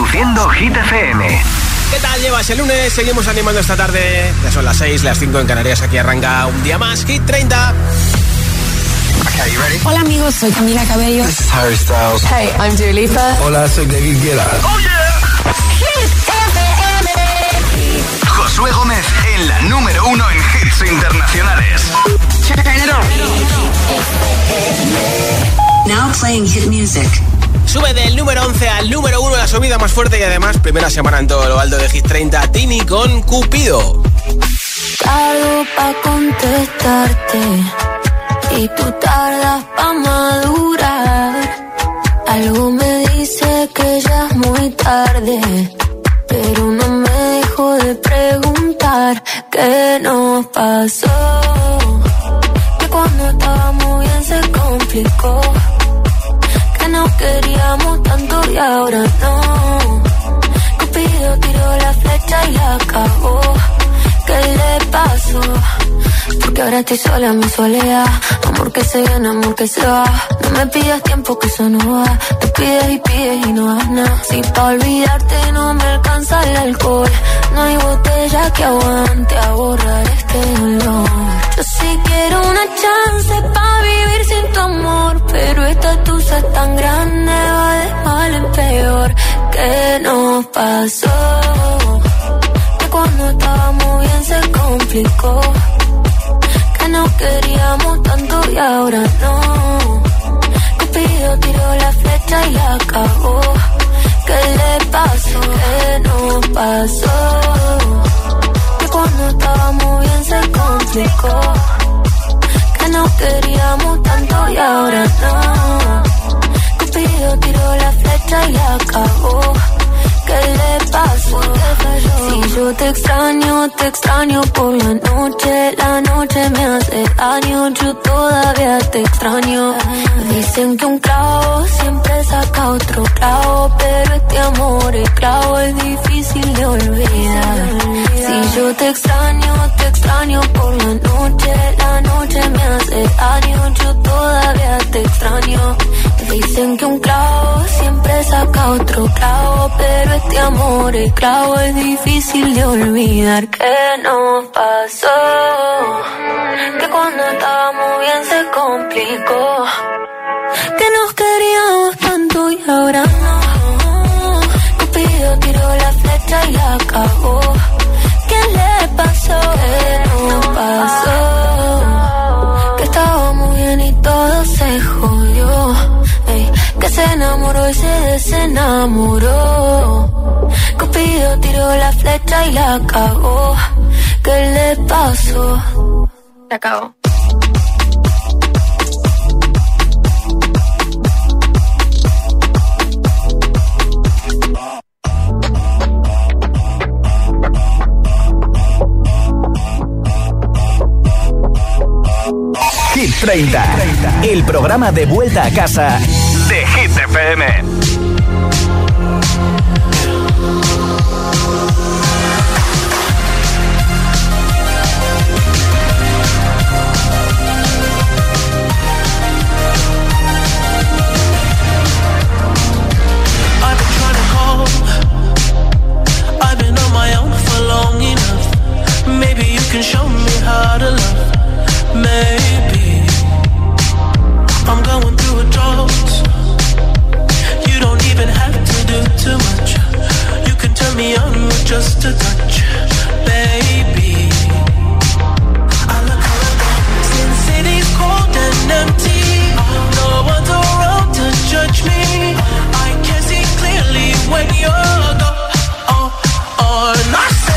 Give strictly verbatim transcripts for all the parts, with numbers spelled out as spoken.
Reproduciendo Hit F M. ¿Qué tal? Llevas el lunes, seguimos animando esta tarde. Ya son las seis, las cinco en Canarias. Aquí arranca un día más, Hit treinta. Okay, you ready? Hola amigos, soy Camila Cabello. This is Harry Styles. Hey, I'm Dua Lipa. Hola, soy David Guetta. ¡Oh, yeah! Hit F M. Josué Gómez en la número uno en hits internacionales. Turn it on. Now playing hit music. Sube del número once al número uno, la subida más fuerte y además primera semana en todo lo alto de Hit treinta. Tini con Cupido. Tardo pa' contestarte y tú tardas pa' madurar. Algo me dice que ya es muy tarde, pero no me dejo de preguntar qué nos pasó. Que cuando estábamos bien se complicó, que nos queríamos tanto y ahora no. Cupido tiró la flecha y la acabó. ¿Qué le pasó? Porque ahora estoy sola en mi soledad. Amor que se viene, amor que se va. No me pidas tiempo que eso no va. Te pides y pides y no das nada. Si pa' olvidarte no me alcanza el alcohol, no hay botella que aguante a borrar este dolor. Yo sí quiero una chance pa' vivir sin tu amor, pero esta tusa es tan grande, va de mal en peor. ¿Qué nos pasó? Que cuando estábamos bien se complicó, que nos queríamos tanto y ahora no. Cupido tiró la flecha y la acabó. ¿Qué le pasó? ¿Qué nos pasó? Que cuando estábamos bien se complicó, que nos queríamos tanto y ahora no. Cupido tiró la flecha y la acabó. ¿Qué le pasó? Si yo te extraño, te extraño por la noche. La noche me hace daño, yo todavía te extraño. Dicen que un clavo siempre saca otro clavo, pero este amor, el clavo es difícil de olvidar. Si yo te extraño, te extraño por la noche. La noche me hace daño, yo todavía te extraño. Dicen que un clavo siempre saca otro clavo, pero este amor, el clavo es difícil de olvidar. ¿Qué nos pasó? Que cuando estábamos bien se complicó, que nos queríamos tanto y ahora no. Cupido tiró la flecha y la acabó. ¿Qué le pasó? ¿Qué nos pasó? Que estábamos bien y todo se jodió. Ey, que se enamoró y se desenamoró. Cupido tiró la flecha y la acabó. ¿Qué le pasó? Se acabó. Hit treinta, el programa de vuelta a casa de Hit F M. Can show me how to love. Maybe I'm going through a drought. You don't even have to do too much. You can turn me on with just a touch, baby. I look around, since city's cold and empty, no one's around to judge me. I can see clearly when you're gone. Oh, oh, and I said,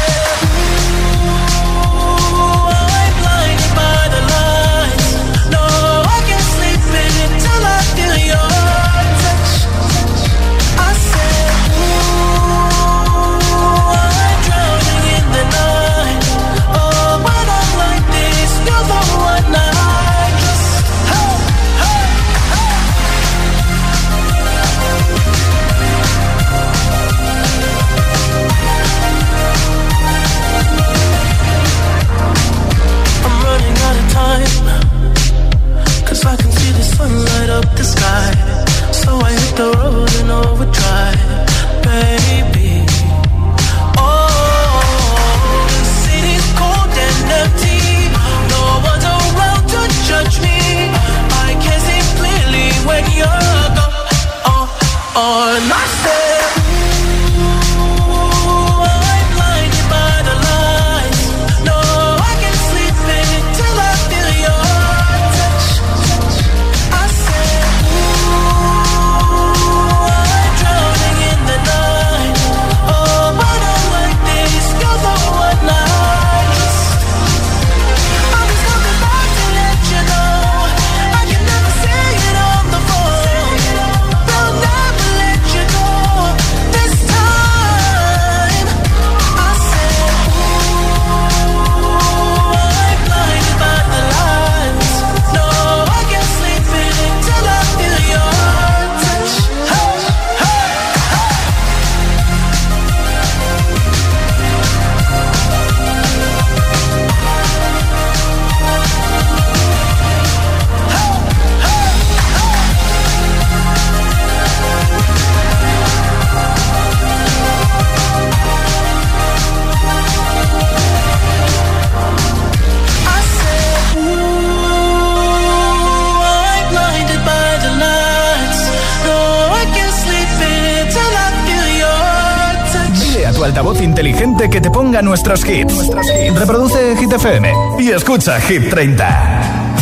tu altavoz inteligente que te ponga nuestros hits. Reproduce Hit F M y escucha Hit treinta.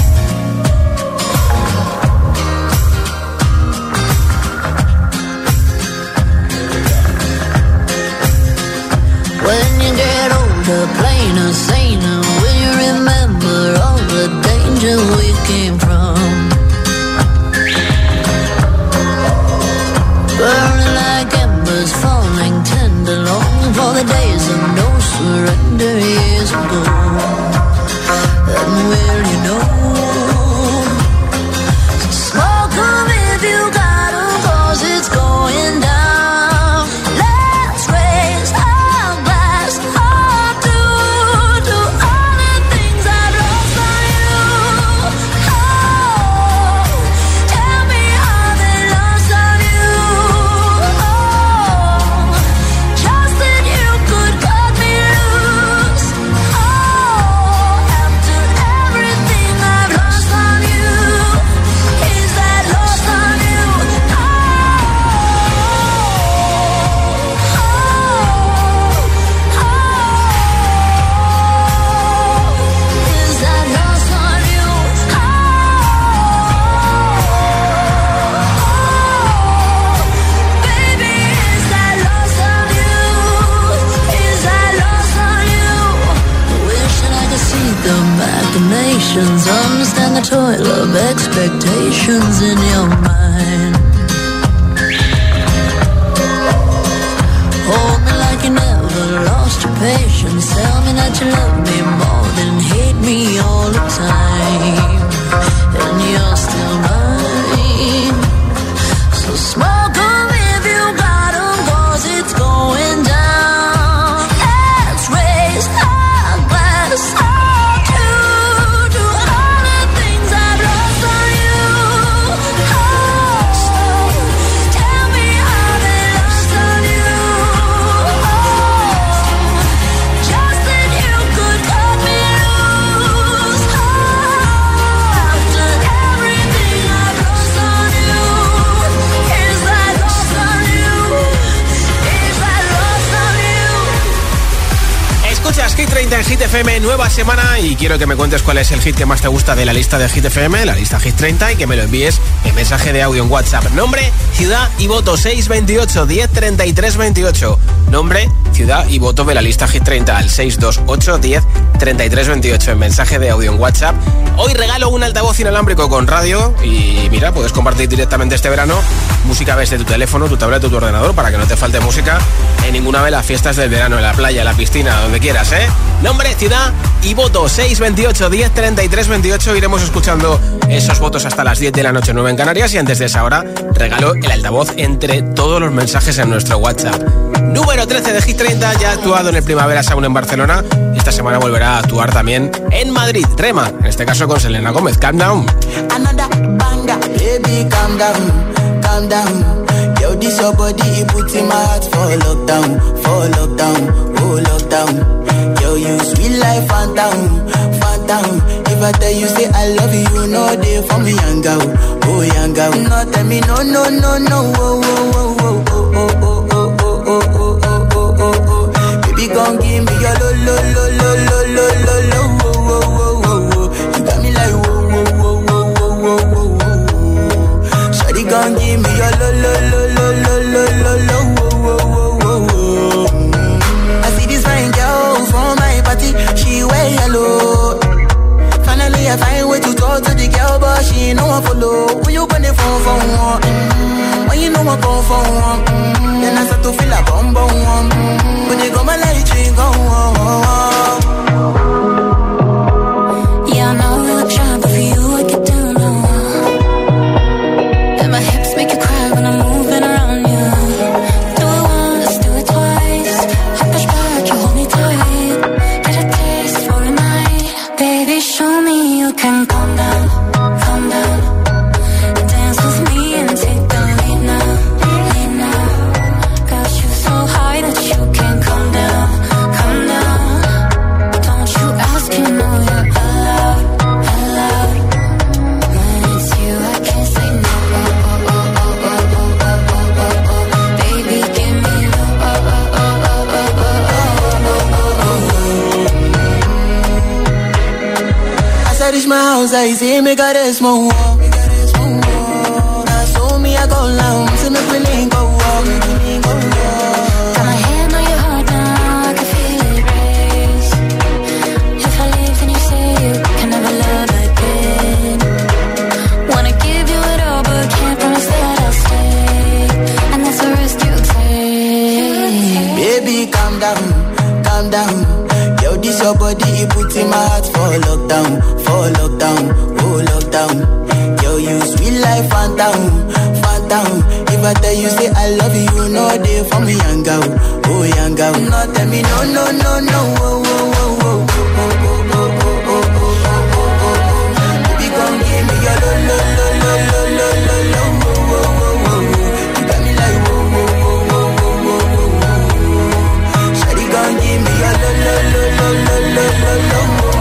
When you get older, plainer, saner, will you remember all the danger we came from? Burning like embers, falling tender, longing for the days of no surrender years ago. And will you know? Smoke 'em if you got 'em, 'cause it's going down. Let's raise our glass up to, to all the things I've lost on you. Oh, tell me how they lost on you. Oh, just that you could cut me loose. Oh, after everything I've lost on you, is that lost on you? Oh, oh, oh, is that lost on you? Oh, baby, is that lost on you? Is that lost on you? Wishing I could see the machinations, understand the toil of expectations in your mind. Hold me like you never lost your patience. Tell me that you love me more than hate me all the time. And you're still mine. So smoke 'em if you got 'em, 'cause it's going down. Let's raise our glass up to, to all the things I've lost on you. Oh, tell me how they lost on you. Oh, just that you could cut me loose. Oh, after everything I've lost on you, is that lost on you? Is that lost on you? Escuchas Hit treinta en Hit F M, nueva semana, y quiero que me cuentes cuál es el hit que más te gusta de la lista de Hit F M, la lista Hit treinta, y que me lo envíes en mensaje de audio en WhatsApp. Nombre, ciudad y voto seis veintiocho diez treinta y tres veintiocho. Nombre, ciudad y voto de la lista Hit treinta al seis dos ocho diez treinta y tres veintiocho en mensaje de audio en WhatsApp. Hoy regalo un altavoz inalámbrico con radio y mira, puedes compartir directamente este verano música desde tu teléfono, tu tableta o tu ordenador para que no te falte música en ninguna de las fiestas del verano, en la playa, en la piscina, donde quieras, ¿eh? Nombre, ciudad y voto seis veintiocho diez treinta y tres veintiocho. Iremos escuchando esos votos hasta las diez de la noche, nueve en Canarias, y antes de esa hora regalo el altavoz entre todos los mensajes en nuestro WhatsApp. Número trece de Hit treinta, ya ha actuado en el Primavera Sound en Barcelona y esta semana volverá a actuar también en Madrid. Rema, en este caso con Selena Gómez. Calm Down. Another banger, baby, calm down, calm down. Yo, this your body, it puts in my heart for lockdown, for lockdown, oh lockdown. Yo, you sweet life, phantom, phantom. If I tell you say I love you, you know they for me, young girl, oh young girl. No, tell me no, no, no, no, oh, oh, oh, oh, oh, oh, oh, oh, oh, oh, oh, oh, oh, oh. Baby, gon' give me your lo, lo, lo, lo, lo, lo, lo, lo, oh, oh, oh, oh, oh. You got me like whoa, whoa, whoa, whoa, whoa, whoa, whoa. Shawty gon' give me your lo, lo, lo, lo, lo, lo, lo, lo, oh, oh, oh, oh, oh. I see this fine girl from my party, she wear yellow. Finally I find way to talk to the girl, but she ain't no one follow. When you gonna phone for one? Mm-hmm. When you know I come for one? Mm-hmm. Then I start to feel a bum bum one. Mm-hmm. When you go my light ring go on. Yeah, I know we look shy, but for you I get down low. And my hips make you cry when I'm moving around you. Do it once, do it twice. I push back, you hold me tight. Get a taste for a night. Baby, show me you can calm down, calm down. Dance with me and take the lead now, lead now. Got you so high that you can't come down, come down. outside, say make a rest more. Now so me I go down, say make we link go walk. Got my hand on your heart now, I can feel it race. If I leave then you say you can never love again. Wanna give you it all but can't promise that I'll stay. And that's a risk you take. Baby calm down, calm down. Yo this your body, it puts in my heart for lockdown, for lockdown, oh lockdown. Yo you sweet life, phantom, phantom. If I tell you say I love you, you know they for me young girl, oh young girl. No tell me no, no, no, no, oh, oh, oh, oh, oh, oh, oh, oh, oh, oh, oh, oh. Baby come give me your lo, lo, lo, lo, lo, lo, lo, lo, oh, oh, oh, oh. You got me like oh, oh, oh, oh, oh, oh, oh. Shawty come give me your lo, lo, lo, lo, lo, lo, lo, lo, oh, oh, oh, oh.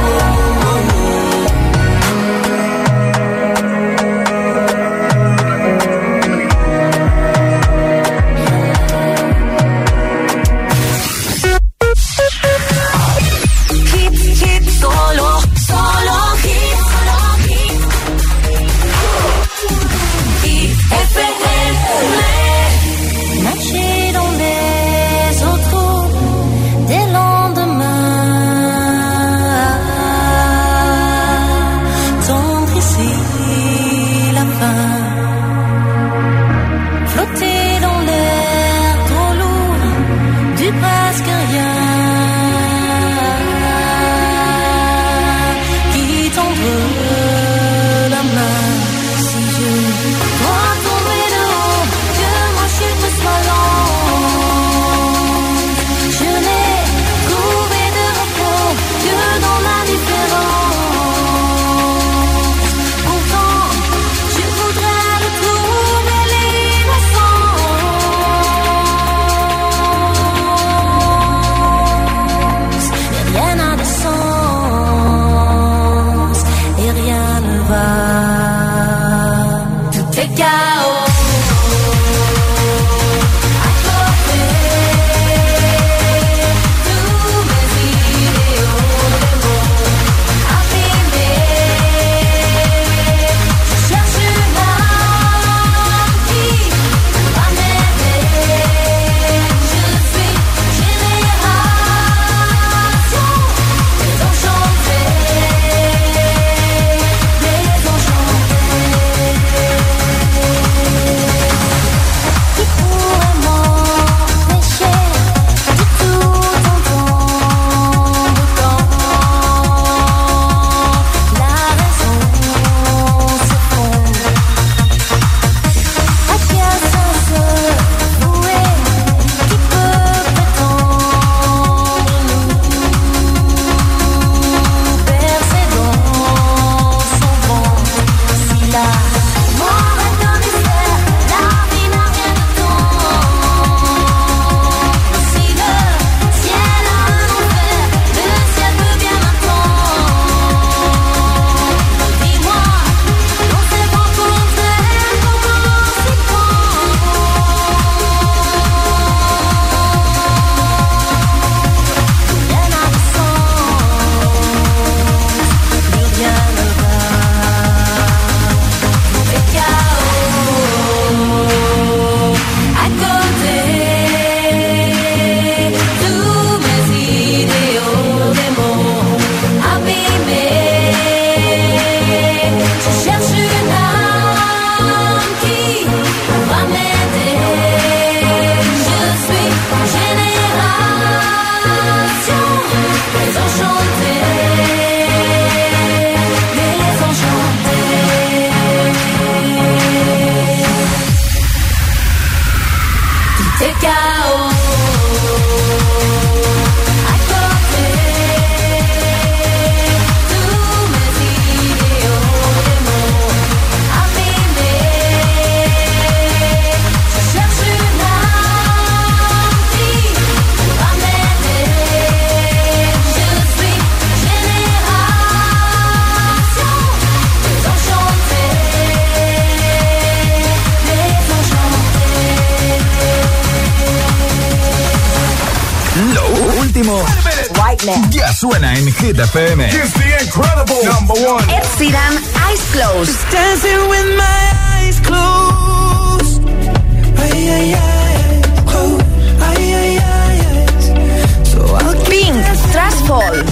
último Right ya suena en Hit F M. It's the incredible number one. Ed Sheeran, Eyes Closed. Just dancing with my eyes closed. Ay, ay, ay, closed. Ay, ay, ay, ay. So I'll Pink, Trashfall.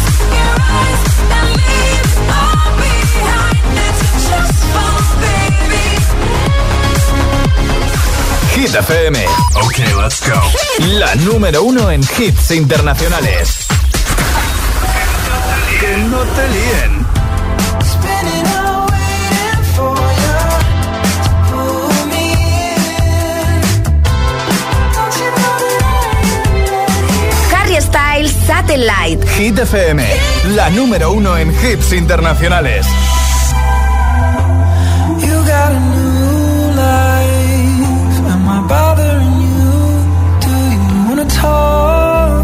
Hit F M. Okay, let's go. La número uno en hits internacionales. Que no te líen. spinning out waiting for you to pull me in. Don't you know that I Harry Styles, Satellite. Hit F M. La número uno en hits internacionales. You got a new life. Am I bothering you? Do you wanna talk?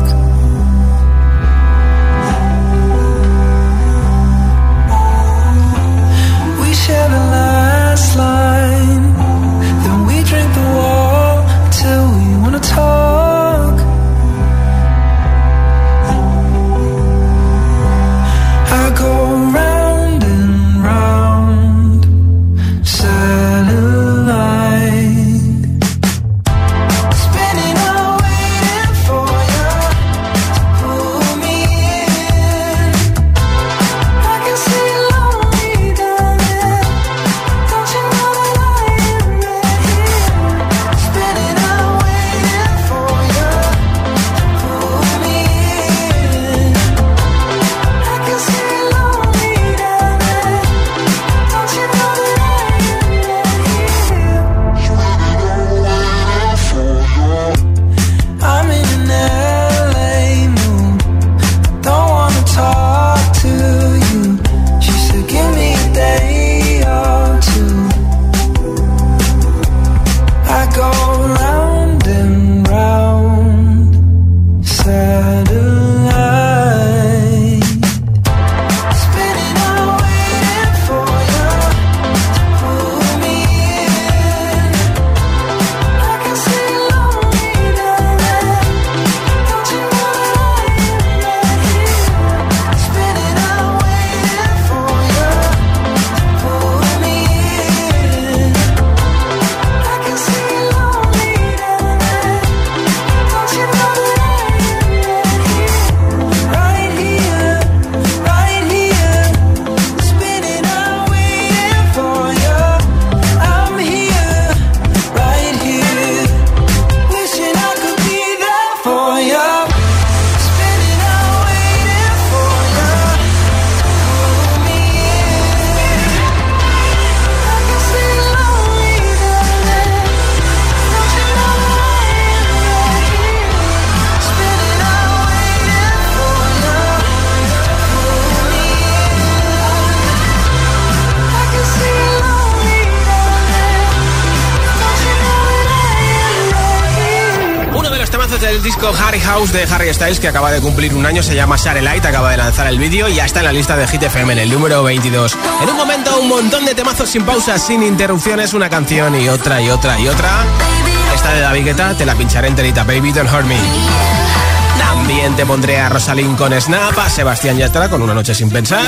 We share the last line. Then we drink the wall till we wanna talk. I go round and round, satellite, spinning out waiting for you to pull me in. I can see lonely down there. Don't you know that I am right here, spinning out waiting for you to pull me in. I can see lonely down there. Don't you know that I am right here? I'm in an L A mood. Don't wanna talk to you. She said, give me a day or two. I go round and round, satellite, spinning out waiting for you to pull me in. I can see lonely down there. Don't you know that I am right here, spinning out waiting for you to pull me in. I can see lonely down there. Don't you know that I am right here, right here, spinning out waiting for you. I'm here, right here, wishing I could be there for you. Spinning out waiting for you, pull me in. I can see lonely down there. Don't you know that I am right here, spinning out waiting for you, pull me in. I can see lonely down there. Don't you know that I am right here. Uno de los temazos del disco Harry House de Harry Styles, que acaba de cumplir un año, se llama Satellite, acaba de lanzar el vídeo y ya está en la lista de Hit F M en el número veintidós. En un momento, un montón de temazos sin pausas, sin interrupciones, una canción y otra y otra y otra. Esta de David Guetta te la pincharé enterita, Baby Don't Hurt Me. También te pondré a Rosalind con Snap, a Sebastián Yatra con Una Noche Sin Pensar.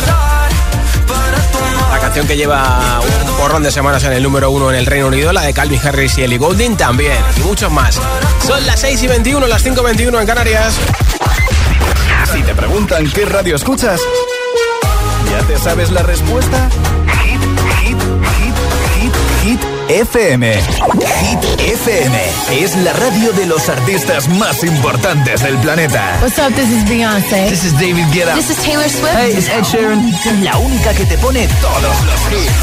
La canción que lleva un porrón de semanas en el número uno en el Reino Unido, la de Calvin Harris y Ellie Goulding también, y muchos más. Son las seis y veintiuno, las cinco y veintiuno en Canarias. Si te preguntan qué radio escuchas, ¿ya te sabes la respuesta? Hit, hit, hit, hit, hit F M. Hit F M es la radio de los artistas más importantes del planeta. What's up, this is Beyoncé. This is David Guetta. This is Taylor Swift. Hey, it's Ed Sheeran. La única que te pone todos los hits.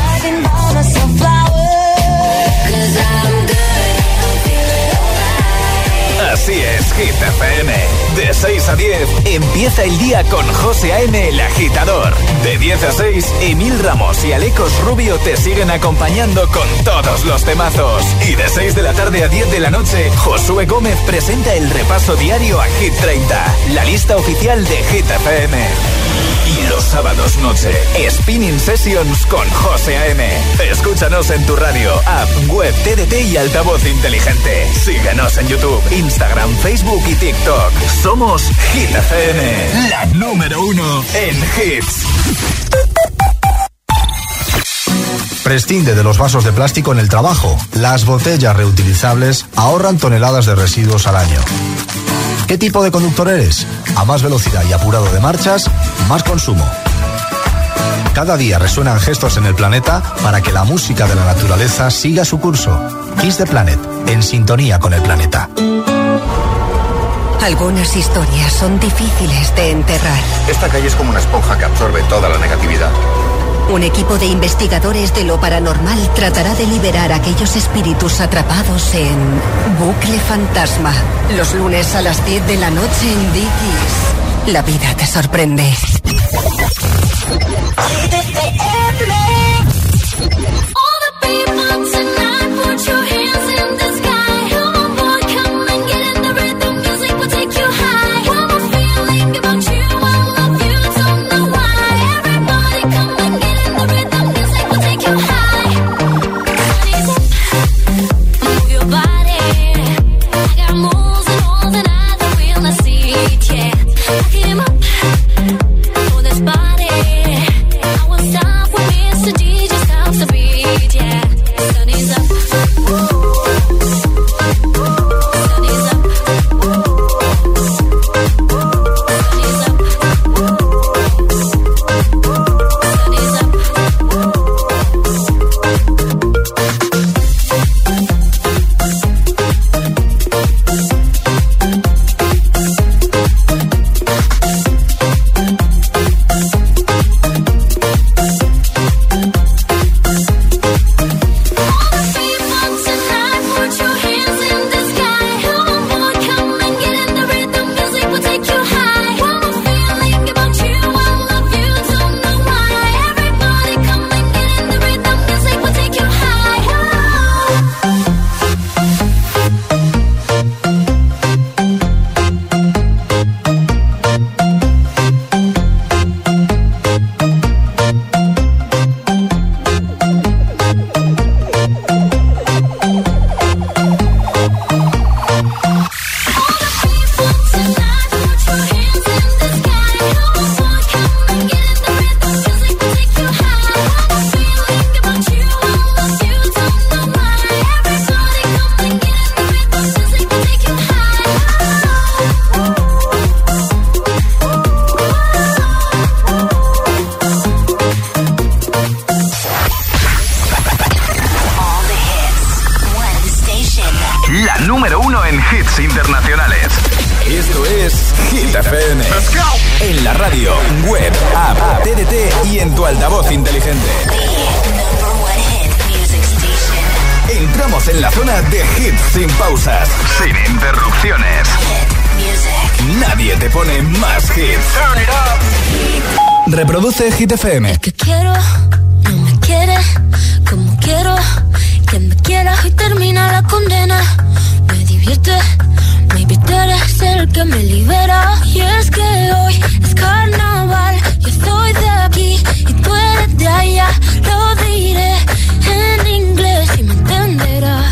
Así es, Hit F M. De seis a diez, empieza el día con José A M, el agitador. De diez a seis, Emil Ramos y Alecos Rubio te siguen acompañando con todos los temazos. Y de seis de la tarde a diez de la noche, Josué Gómez presenta el repaso diario a Hit treinta, la lista oficial de Hit F M. Y los sábados noche, Spinning Sessions con José A M. Escúchanos en tu radio, app, web, T D T y altavoz inteligente. Síguenos en YouTube, Instagram Instagram, Facebook y TikTok. Somos Hit F M, la número uno en hits. Prescinde de los vasos de plástico en el trabajo. Las botellas reutilizables ahorran toneladas de residuos al año. ¿Qué tipo de conductor eres? A más velocidad y apurado de marchas, más consumo. Cada día resuenan gestos en el planeta para que la música de la naturaleza siga su curso. Kiss the Planet, en sintonía con el planeta. Algunas historias son difíciles de enterrar. Esta calle es como una esponja que absorbe toda la negatividad. Un equipo de investigadores de lo paranormal tratará de liberar a aquellos espíritus atrapados en Bucle Fantasma. Los lunes a las diez de la noche en Dickies. La vida te sorprende. Reproduce Hit F M. Es que quiero, no me quiere, como quiero, que me quiera y termina la condena. Me divierte, maybe tú eres el que me libera. Y es que hoy es carnaval, yo soy de aquí y tú eres de allá. Lo diré en inglés y me entenderás.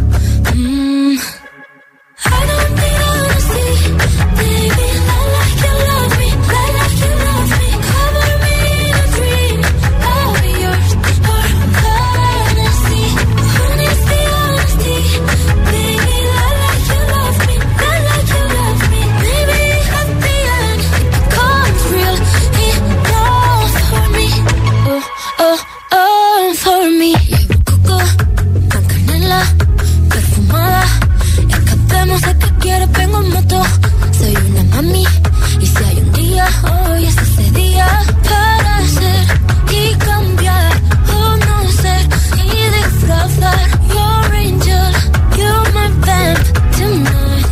Mm. I don't need honesty, baby, I like you love me, I like you love me. Cover me in a dream, I'll be yours for fantasy. Honesty, honesty, baby, I like you love me, I like you love me. Maybe at the end it becomes real enough for me. Oh, oh, oh, for me. Llevo coco con canela perfumada. Escapemos de que quieres, vengo en moto. Soy una mami y si hay un día, hoy es ese día para ser y cambiar o no ser y disfrazar. Your angel, you're my vamp tonight.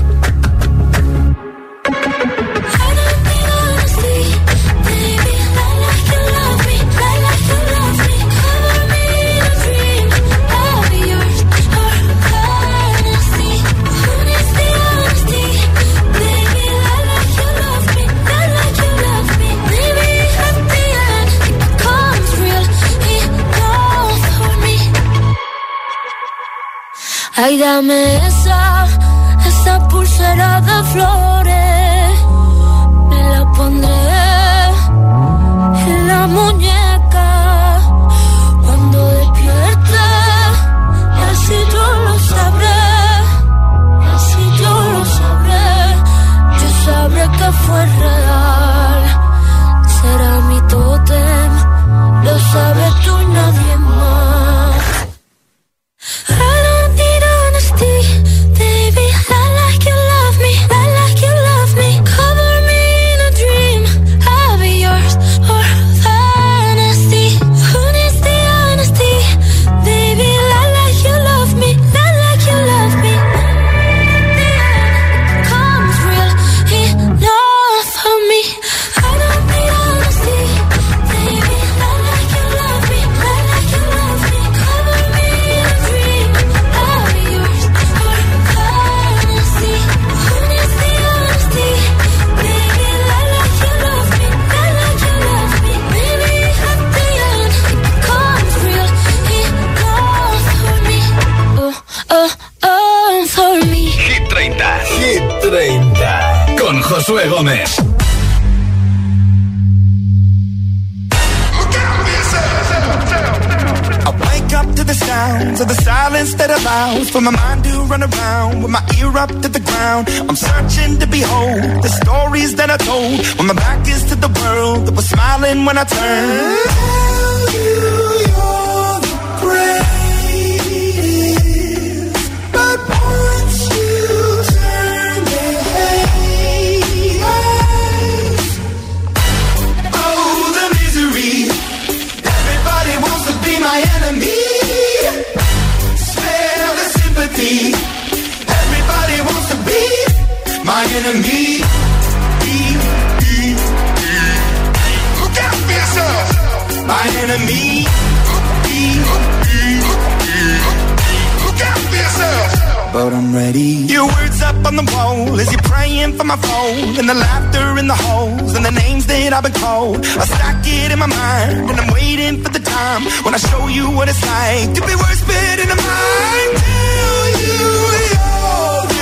I don't need honesty, baby, I like you love me, I like you love me. Cover me in a dream, I'll be yours for fantasy. Honesty, honesty, baby, I like you love me, I like you love me. Maybe at the end it becomes real enough for me. Ay, dame esa, esa pulsera será de flores, me la pondré en la muñeca cuando despierte, y así yo lo sabré, y así yo lo sabré, yo sabré que fue real, será mi tótem, lo sabes tú y nadie más. I don't need honesty, baby, lie like you love me, lie like you love me, cover me in a dream, I'll be yours or fantasy. Who needs the honesty, baby, lie like you love me, lie like you love me. The end comes real enough for me. I don't need honesty, baby, lie like you love me, lie like you love me, cover me in a dream, I'll be yours or fantasy. Who needs the honesty, baby, lie like you love me, lie like you love me. Maybe at the end it becomes real enough for me. Oh, oh, oh, for me. Hit treinta. Hit treinta. Con Josué Gómez. I wake up to the sounds of the silence that allows for my mind to run around with my ear up to the ground. I'm searching to behold the stories that I told when my back is to the world that was smiling when I turned. Tell you you're the greatest, but once you turn they hate us. Oh, the misery. Everybody wants to be my enemy. Smell the sympathy. Everybody wants to be my enemy. Be, be, be. Look out for yourself. My enemy. Be, be, be. Look out for yourself. But I'm ready. Your words up on the wall as you're praying for my phone, and the laughter in the holes and the names that I've been called. I stack it in my mind and I'm waiting for the time when I show you what it's like to be worse fit in the mind. Tell you you're the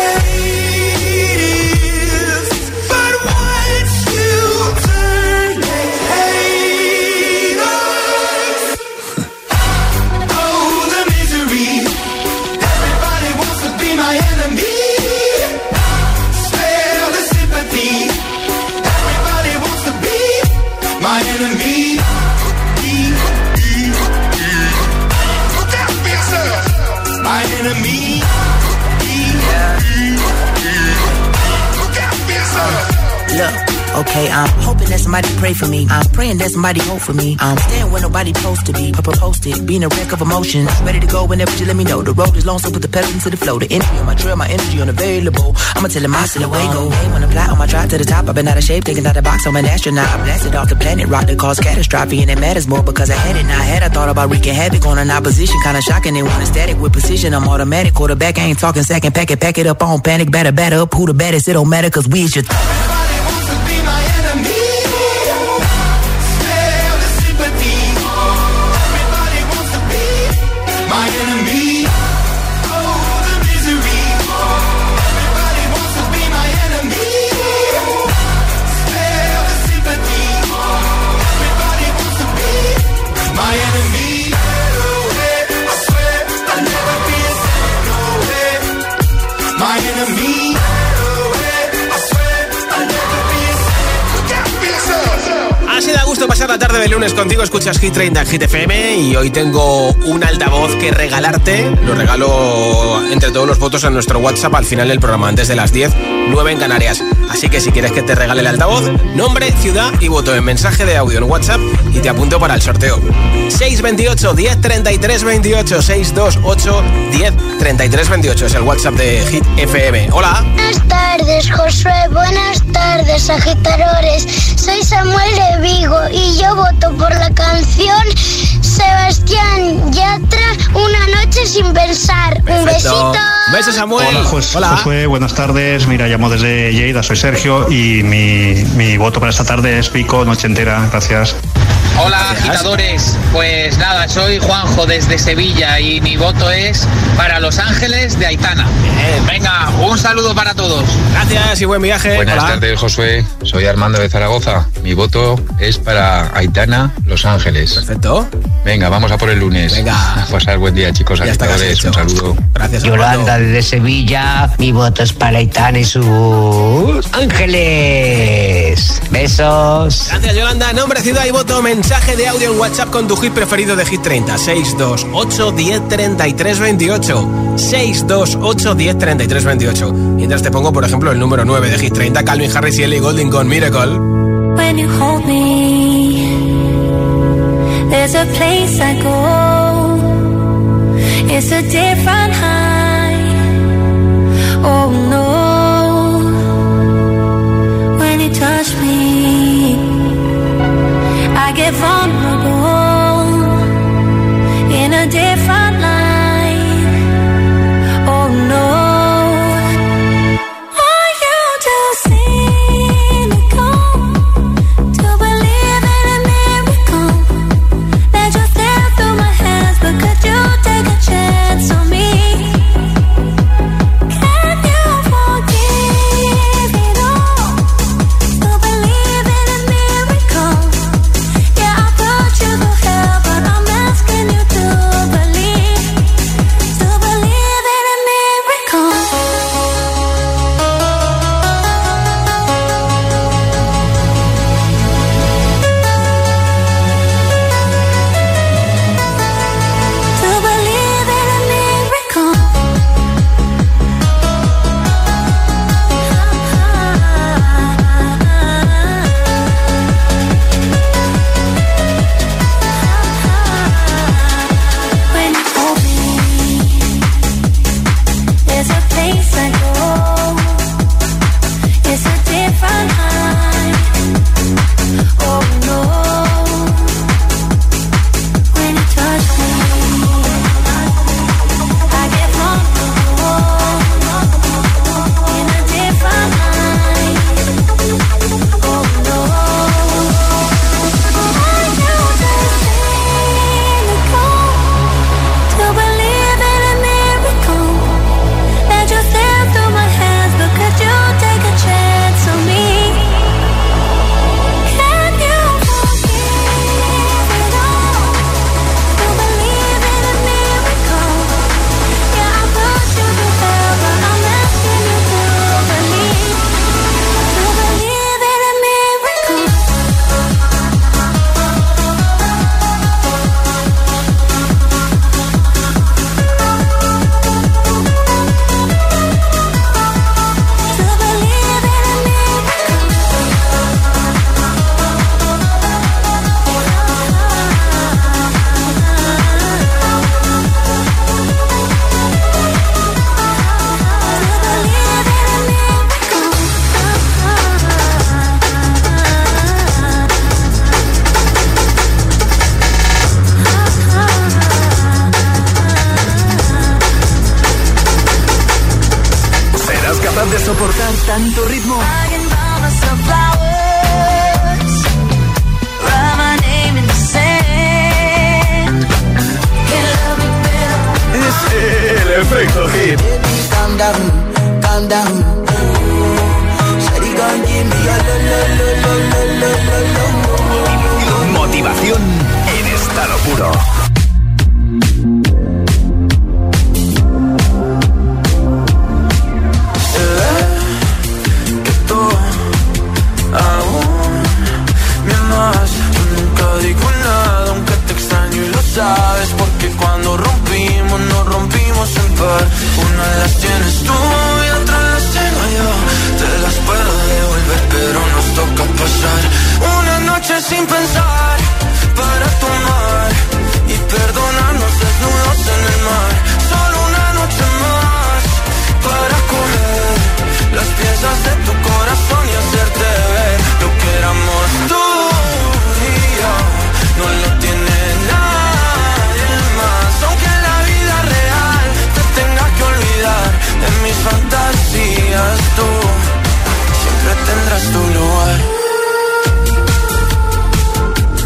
greatest, but once you turn they hate us. Oh, the misery. Everybody wants to be my enemy. Spare the sympathy. Everybody wants to be my enemy. Be, be, be. Look out for yourself. My enemy. Be, be, be. Look out for yourself. Look, okay, I'm hoping that somebody pray for me. I'm praying that somebody hope for me. I'm staying where nobody supposed to be. Papa posted, being a wreck of emotions. Ready to go whenever you let me know. The road is long, so put the pedal into the flow. The energy on my trail, my energy unavailable. I'ma tell him I still away go. Hey, when I fly on my drive to the top, I've been out of shape, thinking out the box. I'm an astronaut. I blasted off the planet, rock that caused catastrophe, and it matters more because I had it. Now I had I thought about wreaking havoc on an opposition, kinda shocking. They want a static with precision. I'm automatic, quarterback. I ain't talking second, pack it, pack it up on panic, batter, batter up. Who the baddest? It don't matter, cause we is your. Th- My enemy. Oh, the misery. Everybody wants to be my enemy. Spare the sympathy. Everybody wants to be my enemy. I swear I'll never be a saint. No way. My enemy. I swear I'll never be a saint. Look out for yourself. Así da gusto pasar la tarde de lunes contigo. Escuchas Hit treinta en Hit F M y hoy tengo un altavoz que regalarte. Lo regalo entre todos los votos en nuestro WhatsApp al final del programa, antes de las diez, nueve en Canarias. Así que si quieres que te regale el altavoz, nombre, ciudad y voto en mensaje de audio en WhatsApp y te apunto para el sorteo. seis veintiocho, diez, treinta y tres, veintiocho. seis veintiocho, diez, treinta y tres, veintiocho es el WhatsApp de Hit F M. Hola. Buenas tardes, Josué. Buenas tardes, agitadores. Soy Samuel de Vigo y yo voto por la canción Sebastián Yatra, Una noche sin pensar. Perfecto. Un besito. Besos, Samuel. Hola, Jos- Hola. Josué. Buenas tardes. Mira, llamo desde Lleida. Soy Sergio y mi, mi voto para esta tarde es Pico, Noche Entera. Gracias. Hola, agitadores. Pues nada, soy Juanjo desde Sevilla y mi voto es para Los Ángeles de Aitana. Venga, Un saludo para todos. Gracias y buen viaje. Buenas Hola. tardes, Josué. Soy Armando de Zaragoza. Mi voto es para Aitana, Los Ángeles. Perfecto. Venga, vamos a por el lunes. Venga. A pasar buen día, chicos. Ya está casi hecho. Un saludo. Gracias, Yolanda Armando. desde Sevilla. Mi voto es para Aitana y sus ángeles. Besos. Gracias, Yolanda. Nombre, ciudad y voto. Mensaje de audio en WhatsApp con tu hit preferido de Hit treinta. seis dos ocho, diez, treinta y tres, veintiocho. seis dos ocho, diez, treinta y tres, veintiocho. Mientras te pongo, por ejemplo, el número nueve de Hit treinta. Calvin Harris y Ellie Goulding con Miracle. When you hold me, there's a place I go. It's a different high. Oh no. When you touch me, I get vulnerable in a different light. Oh no. soportar tanto ritmo? Es el efecto hit. Calm down, calm down. Shawty gon' give me a lo, lo, lo, lo, lo, lo, lo. Motivación en estado puro. Sabes, porque cuando rompimos, nos rompimos en par. Una de las tienes tú y otra las tengo yo. Te las puedo devolver, pero nos toca pasar una noche sin pensar, para tomar y perdonarnos desnudos en el mar. Solo una noche más, para coger las piezas de tu corazón y hacerte ver lo que éramos tú y yo. No lo tiene nada. En mis fantasías tú siempre tendrás tu lugar.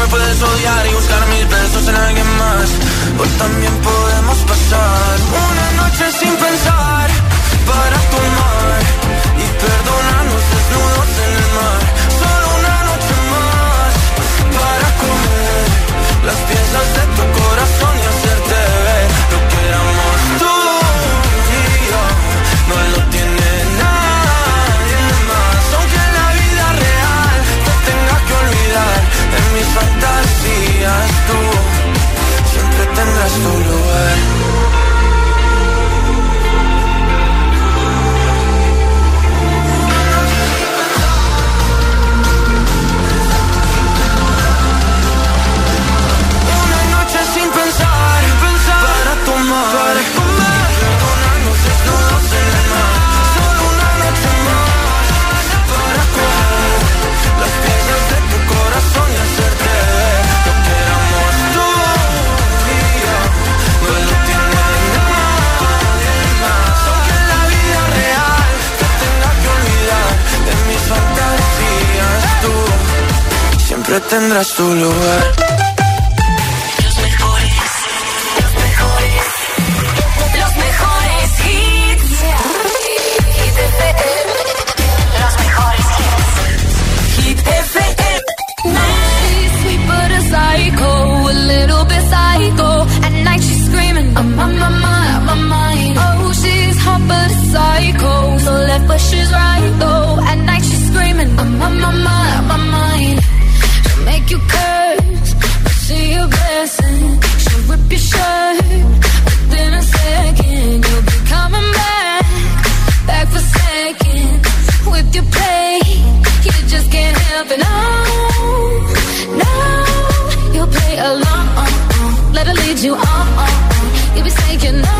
me puedes odiar y buscar mis besos en alguien más. O también podemos pasar una noche sin pensar para tomar y perdonarnos desnudos en el mar. Solo una noche más para comer las piezas de tu corazón y hacerte ver lo que éramos tú y yo. No lo tiene nadie más. Aunque en la vida real te tenga que olvidar, en mis fantasías tú siempre tendrás tu lugar. Una noche sin pensar, pensar para tomar, para comer, perdonarnos desnudos en el mar. Solo una noche más para comer las piezas de tu corazón y hacerte ver lo que éramos tú y yo. No lo tiene nadie más. Aunque en la vida real te tenga que olvidar, en mis fantasías tú siempre tendrás tu lugar. Los mejores hits. Hit F M. Los mejores hits. Hit F M. She's sweet but a psycho, a little bit psycho. At night she's screaming, I'm on my mind, my mind. Oh, she's hot but a psycho, so left but she's right though. At night she's screaming, I'm on my mind, my mind. She'll make you curse, but see a blessing. She'll rip your shirt. Within a second, you'll be coming back, back for seconds. With your play, you just can't help it. No, no, you'll play along. Let her lead you on. You'll be saying no,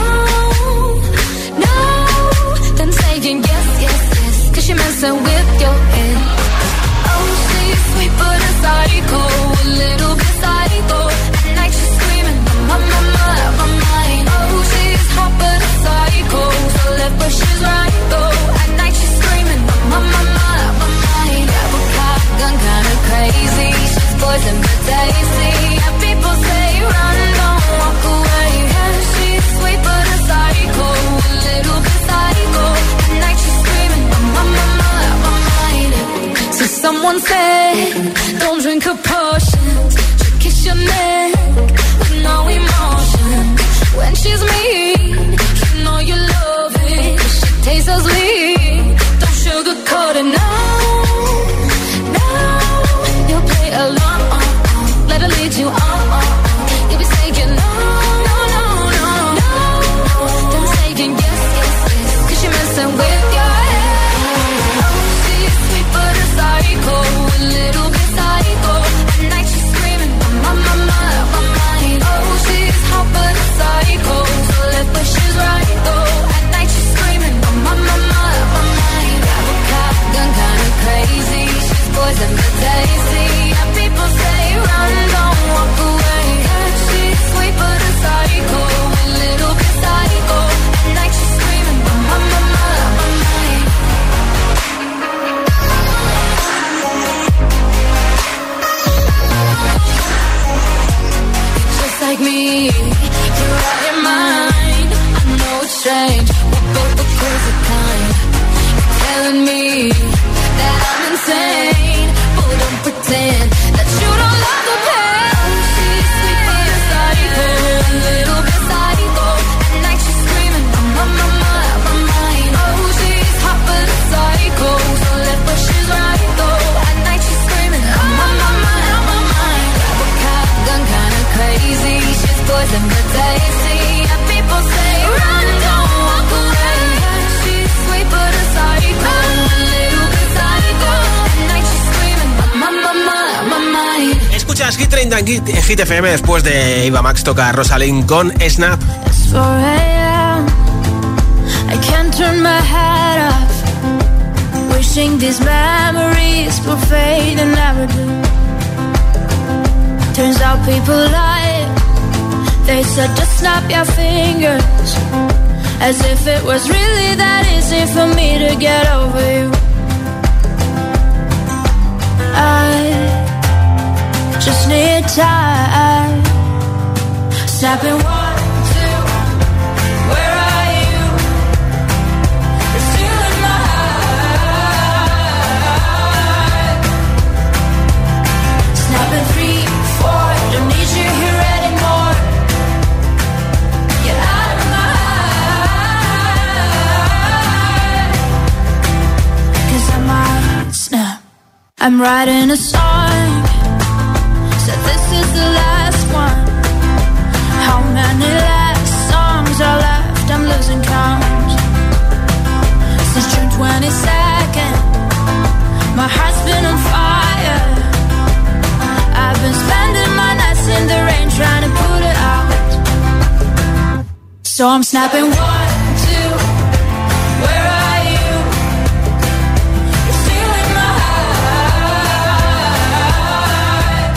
no, then saying yes, yes, yes. Cause you're messing with your head. Oh, she's sweet but a psycho, a little bit psycho. At night she's screaming, my, my, my, my mind. Oh, she's hot but a psycho, so left but she's right though. At night she's screaming, my, my, my, my mind. Apple cop gun kinda crazy, she's poison but tasty. And people say run, don't walk away. Yeah, she's sweet but a psycho, a little bit psycho. At night she's screaming, my, my, my, my mind. So someone said, don't drink her potions. She'll kiss your neck with no emotion. When she's mean, you know you love it. She tastes so sweet, don't sugarcoat it. No, no, you'll play along. Let her lead you on. You'll be saying no, no, no, no, no. Then saying yes, yes, yes. Cause you're messing with your head. Oh, she's sweet but a psycho, a little bit psycho. At night she's screaming, my, my, my, my mind. Oh, she's hot but a psycho, so left but she's right though. At night she's screaming, my, my, my, my mind. Apple cop gun kinda crazy, she's poison but tasty. And people say run, don't walk away. Yeah, she's sweet but a psycho, a little bit psycho. At night she's screaming, my, my, my, my mind. Just like me, you're out your mind. I know it's strange, we're both the crazy kind. You're telling me that I'm insane, but don't pretend that you don't love the pain. She's sweet but a psycho, a little bit psycho. At night she's screaming, my, my, my, my mind. Oh, she's hot but a psycho, so left but she's right though. At night she's screaming, my, my, my, my mind. Apple cop gun kinda crazy, she's poison but tasty. And people say run, don't walk away. Yeah, she's sweet but a psycho, a little bit psycho. At night she's screaming, my, my, my, my mind. Escuchas Hit treinta en Hit, Hit F M. Después de Eva Max toca Rosalind con Snap. It's four a.m. I can't turn my head off. Wishing these memories will fade and never do. Turns out people lie. They said just snap your fingers, as if it was really that easy for me to get over you. I just need time. Snapping one, two, where are you? You're still in my heart. Snapping three, four, don't need you here anymore. Get out of my heart. 'Cause I might snap. I'm writing a song. Said this is the last one. How many last songs are left? I'm losing count. Since June twenty-second, my heart's been on fire. I've been spending my nights in the rain trying to put it out. So I'm snapping one, two, where are you? You're still in my heart.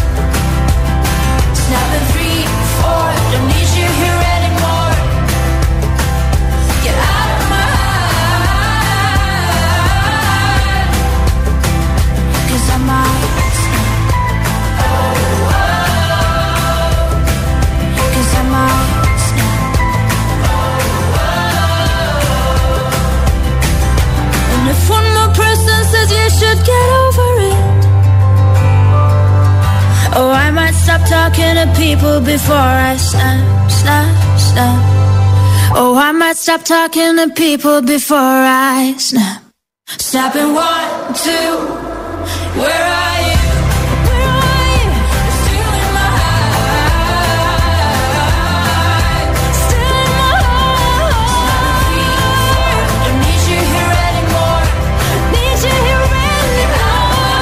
Snapping three, four, don't need you here anymore. Get out of my heart. 'Cause I might snap. Oh, oh. 'Cause I might snap. Oh, oh. And if one more person says you should get over it, oh, I might stop talking to people before I snap, snap, snap. Oh, I might stop talking to people before I snap. Snapping one, two, where are you? Where are you? You're still in my heart. Still in my heart. Don't need you here anymore. Need you here anymore.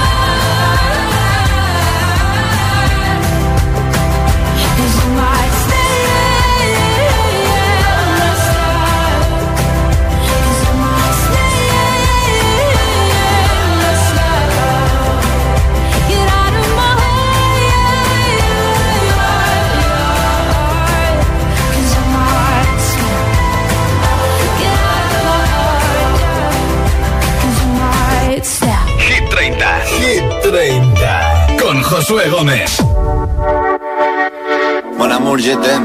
'Cause I might stay. 'Cause I might stay. Get out of my heart. 'Cause I might stay. Get out of my heart. 'Cause I might stay. Hit treinta. Hit treinta. Con Josué Gómez. Mon amour, je t'aime.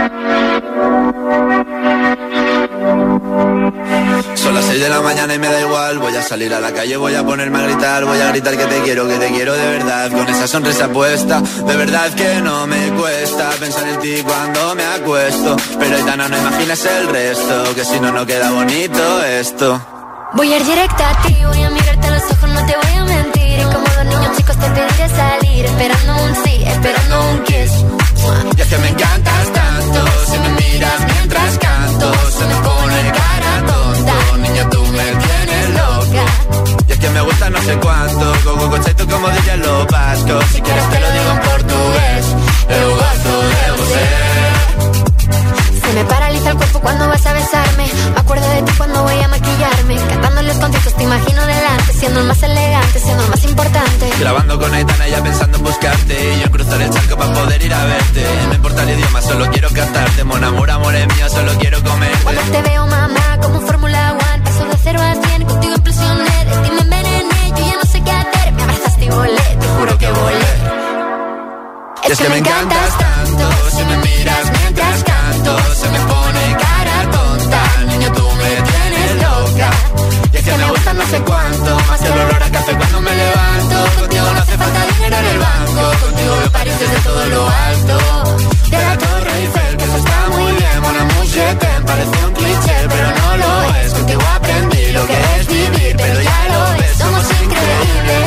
Son las seis de la mañana y me da igual. Voy a salir a la calle, voy a ponerme a gritar. Voy a gritar que te quiero, que te quiero de verdad. Con esa sonrisa puesta, de verdad que no me cuesta pensar en ti cuando me acuesto. Pero Aitana, no imaginas el resto, que si no, no queda bonito esto. Voy a ir directa a ti, voy a mirarte a los ojos, no te voy a mentir. Y como dos niños chicos te pediré salir, esperando un sí, esperando un kiss. Y es que me encantas tanto, si me miras mientras canto, se me pone cara tonta. Niña, tú me tienes loca. Y es que me gusta no sé cuánto, go, go, go, tú como dirían los vascos. Si quieres te lo digo en portugués, eu gosto de você. Se me paraliza el cuerpo cuando vas a besarme. Me acuerdo de ti cuando voy a maquillarme. Cantando en los conciertos te imagino delante, siendo el más elegante, siendo el más importante. Grabando con Aitana ya pensando en buscarte, y yo en cruzar el charco para poder ir a verte. No importa el idioma, solo quiero cantarte. Mon amor, amor es mío, solo quiero comerte. Cuando te veo, mamá, como un Fórmula One, paso de cero a cien, contigo impresioné. De ti me envenené, yo ya no sé qué hacer. Me abrazaste y volé, te juro que volé. Es, es que, que me encantas tanto, si me miras mientras canto, se me pone cara tonta. Niño, tú me tienes loca. Y es que me gusta no sé cuánto, más que el olor a café cuando me levanto. Contigo no hace falta dinero en el banco, contigo veo París desde todo lo alto. De la Torre Eiffel, que eso está muy bien. Mon amour, je t'aime, parece un cliché, pero no lo es. Contigo aprendí lo que es vivir, pero ya lo ves, somos increíbles.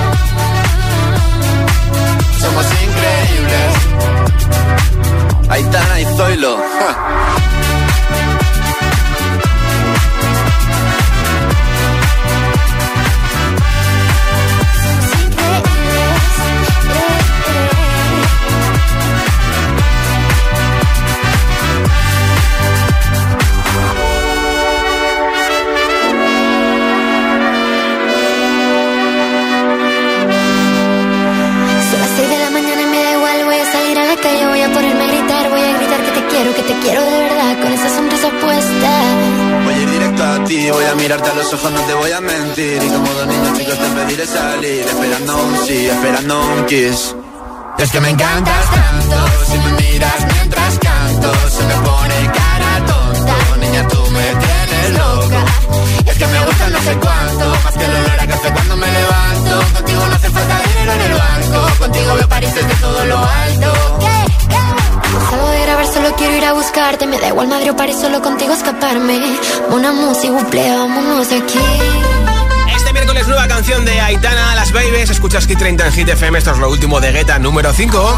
Somos increíbles. Aitana y Zoilo. Ja. Voy a mirarte a los ojos, no te voy a mentir. Y como dos niños chicos te pediré salir, esperando un sí, esperando un kiss. Es que me encantas tanto, si me miras mientras canto, se me pone cara tonta. Niña, tú me tienes loca. Es que me gusta no sé cuánto, más que el olor a café cuando me levanto. Contigo no hace falta dinero en el banco, contigo veo París desde todo lo alto. No salgo de grabar, solo quiero ir a buscarte. Me da igual Madrid o París, solo contigo escaparme. Una música, buple, vámonos de aquí. Este miércoles nueva canción de Aitana, Las Babies. Escuchas Hit treinta en Hit F M. Esto es lo último de Guetta, número cinco.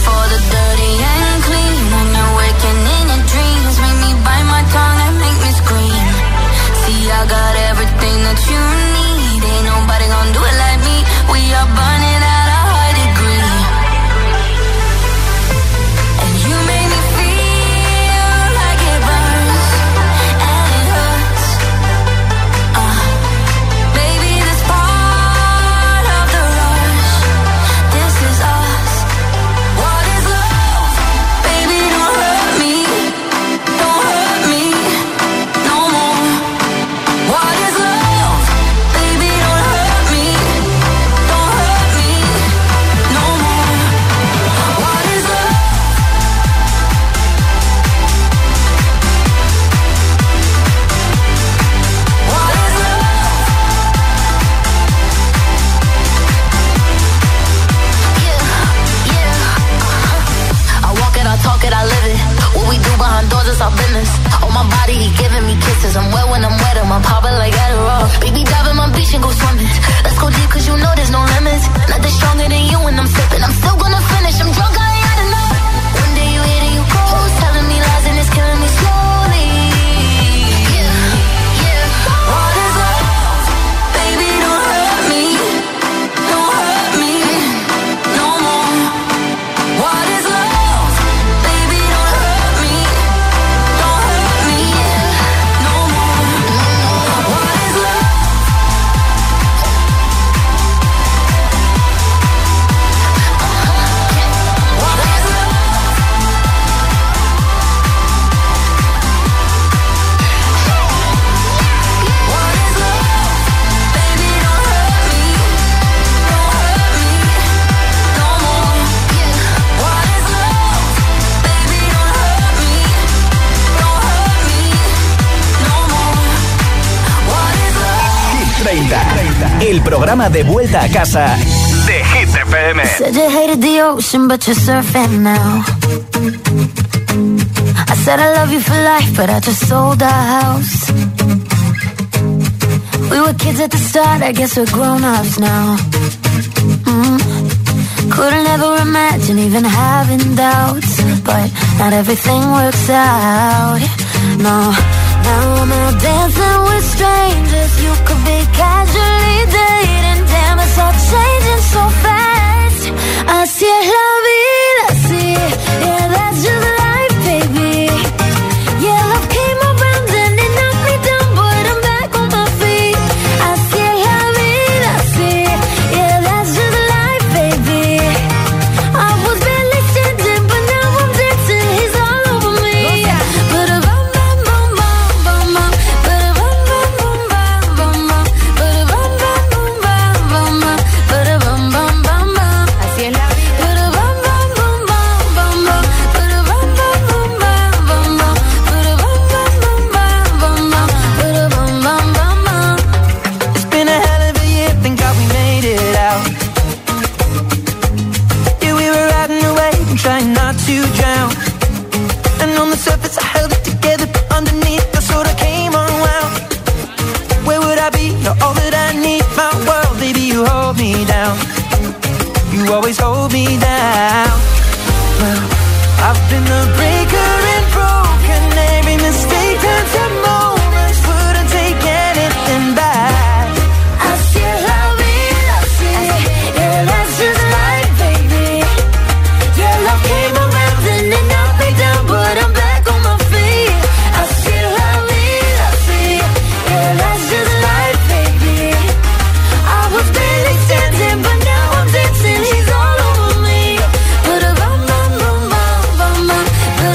El programa de vuelta a casa de Hit F M. Said you hated the ocean, but you're surfing now. I said I love you for life, but I just sold our house. We were kids at the start, I guess we're grown-ups now. Mm. Couldn't ever imagine even having doubts, but not everything works out. No. Now I'm out dancing with strangers. You could be casually dating. Damn, it's all changing so fast. Así es la vida, sí. Yeah, that's just life, baby. Yeah, love came around and it knocked me down, but I'm back on my feet. Así es la vida, sí. Yeah, that's just life, baby. I was barely standing, but now I'm dancing. He's all over me. But a bum bum bum bum bum. But a bum bum bum bum bum. But a bum bum bum bum bum. But a bum bum bum bum. Así es la vida. But a bum bum bum bum bum. But a bum bum bum bum bum. But a bum bum bum bum bum. But a bum bum bum bum. It's been a hell of a year, thank God we made it out. Yeah, we were riding away and trying not to drown. And on the surface I held it together, but underneath I sort of came unwound. Where would I be? You're all that I need. My world, baby, you hold me down. You always hold me down. Well, I've been the breaker and broken. Every mistake turns to moments. Wouldn't take anything back. Así es la vida, sí. Yeah, that's just life, baby. Yeah, love came around and it knocked me down, but I'm back on my feet. Así es la vida, sí. Yeah, that's just life, baby. I was barely standing, but now I'm dancing. He's all over me. But a bum bum bum bum bum bum. But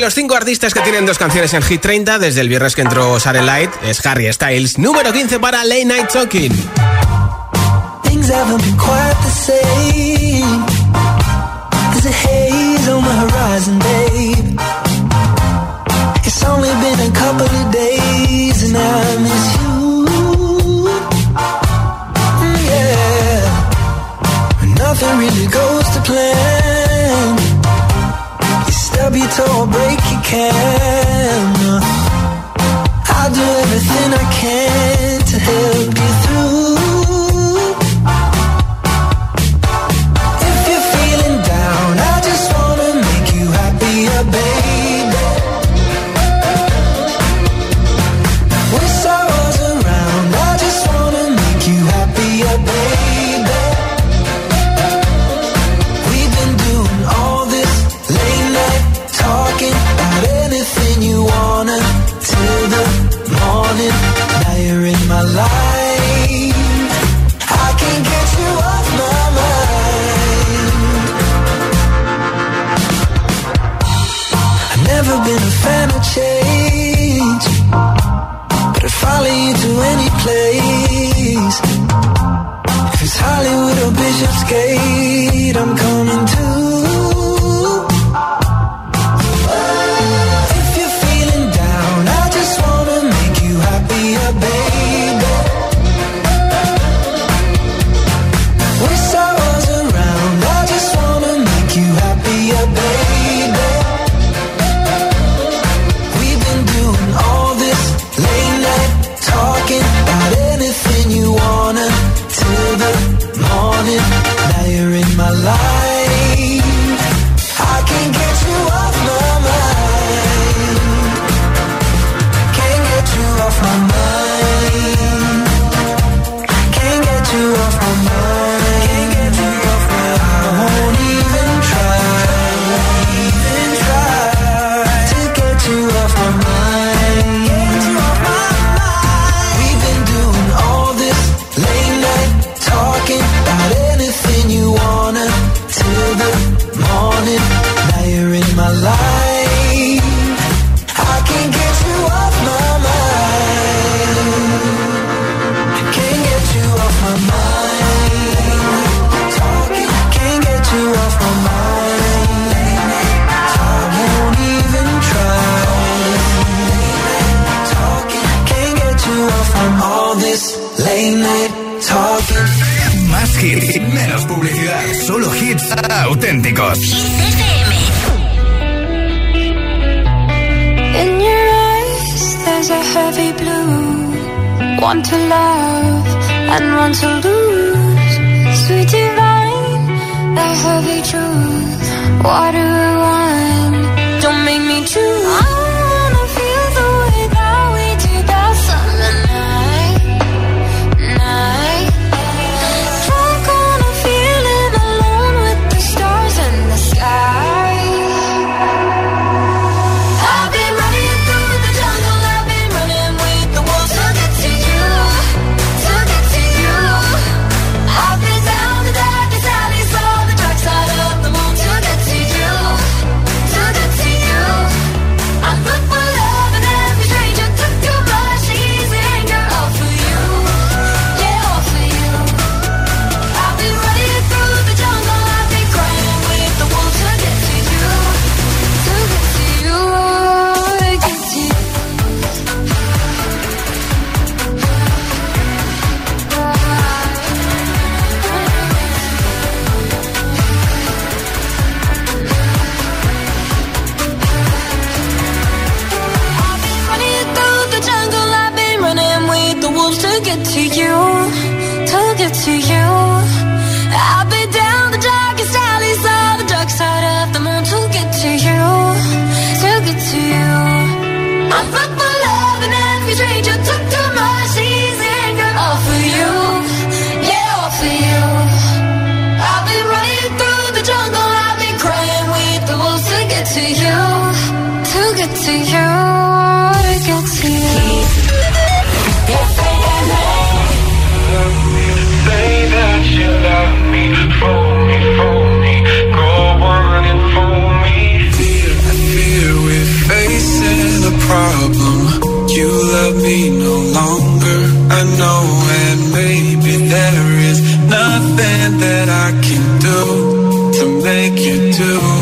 los cinco artistas que tienen dos canciones en Hit treinta desde el viernes que entró Satellite es Harry Styles. Número quince para Late Night Talking. Things haven't been quite the same. There's a haze on the horizon, babe. It's only been a couple of days and I miss you. Yeah. Nothing really goes to plan. You stub your toe or break your can. I'll do everything I can to help you through. If you're feeling down, I just wanna make you happier, baby. With sorrows around, I just wanna make you happier, baby. We've been doing all this late night talking about anything you wanna till the morning. Now you're in my life. I can't get you off my mind. I've never been a fan of change, but I'd follow you to any place. If it's Hollywood or Bishopsgate, I'm coming too. If you're feeling down, I just wanna make you happier, baby. With sorrows around, I just wanna make you happier, baby. We've been doing all this late night talking about anything you wanna till the morning. Now you're in my life. I can't get you off my mind. Can't get you off my mind. Can't get you off my mind. Can't get you off my mind. I won't even try, even try to get you off my mind. Get you off my mind. We've been doing all this late night talking about anything you wanna till the morning. Now you're in my life. I can't get you off my mind. Can't get you off my mind. Talking, can't get you off my mind. I won't even try. Talking, can't get you off from all this late night talking. Más hits, menos publicidad. Solo hits auténticos. In your eyes, there's a heavy blue. One to love and one to lose. Sweet divine, the heavy truth. Water or wine, don't make me choose. I wanna feel the way that we did that summer night, night. Drunk on a feeling alone with the stars in the sky. I've been running through the jungle, I've been running with the wolves to get to you, to get to you. I've been down the darkest alleys, saw the dark side of the moon to get to you, to get to you. I'm good for love and every stranger took too much easy anger, all for you, yeah, all for you. I've been running through the jungle, I've been crying with the wolves to get to you, to get to you, to get to you. I've been running through the jungle, I've been running with the wolves to get to you, to get to you. I've been down the darkest alleys, saw the dark side of the moon to get to you, to get to you. I'm fucked for love and every stranger took too much easy anger, all for you, yeah, all for you. I've been running through the jungle, I've been crying with the wolves to get to you, to get to you, to get to you. Say that you love me, fool me, fool me, go on and fool me. Fear, fear with nothing that I can do to make you do